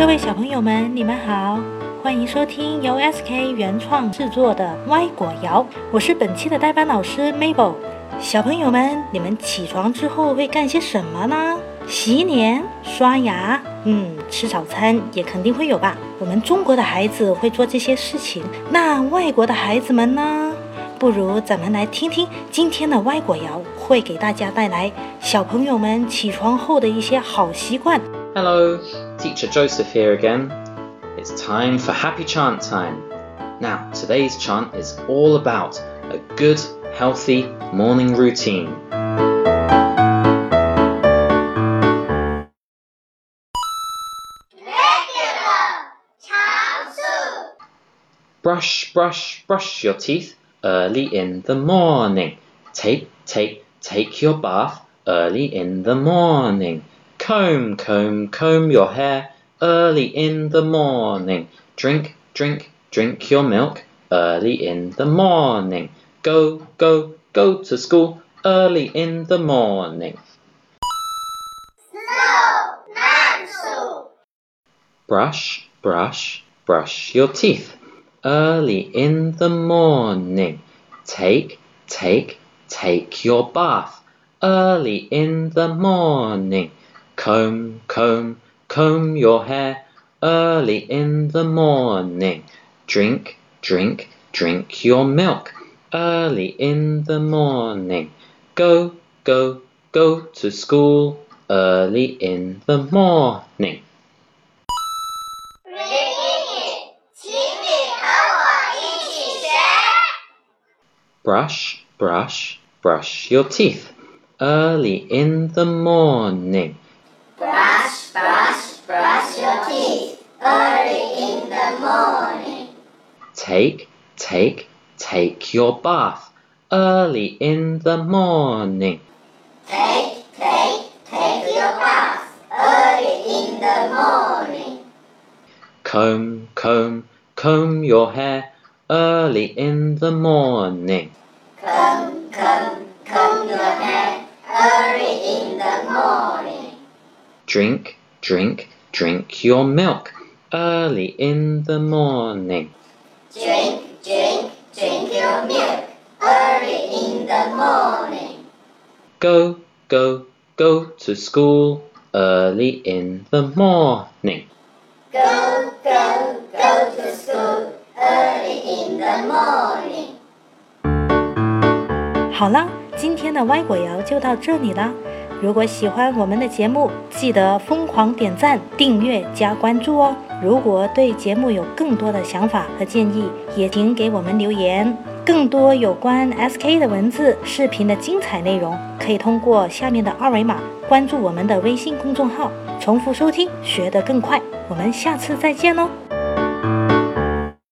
各位小朋友们，你们好，欢迎收听由 SK 原创制作的歪果谣，我是本期的代班老师 Mabel。小朋友们，你们起床之后会干些什么呢？洗脸、刷牙，吃早餐也肯定会有吧。我们中国的孩子会做这些事情，那外国的孩子们呢？不如咱们来听听今天的歪果谣，会给大家带来小朋友们起床后的一些好习惯。 Hello, Teacher Joseph here again. It's time for Happy Chant time. Now, today's chant is all about a good, healthy morning routine. Brush, brush, brush your teeth early in the morning. Take your bath early in the morning. Comb, comb, comb your hair early in the morning. Drink, drink, drink your milk early in the morning. Go, go, go to school early in the morning. Brush, brush, brush your teeth early in the morning. Take your bath early in the morning. Comb, comb, comb your hair early in the morning. Drink, drink, drink your milk early in the morning. Go, go, go to school early in the morning. Brush, brush, brush your teeth early in the morning. Brush, brush, brush your teeth early in the morning. Take your bath early in the morning. Take your bath early in the morning. Comb, comb, comb your hair early in the morning. Comb, comb, comb your hair early in the morning. Drink, drink, drink your milk early in the morning. Drink, drink, drink your milk early in the morning. Go, go, go to school early in the morning. Go, go, go to school early in the morning. 好了，今天的歪果谣就到这里了。如果喜欢我们的节目，记得疯狂点赞、订阅加关注哦。如果对节目有更多的想法和建议，也请给我们留言。更多有关 SK 的文字、视频的精彩内容，可以通过下面的二维码关注我们的微信公众号。重复收听，学得更快。我们下次再见喽。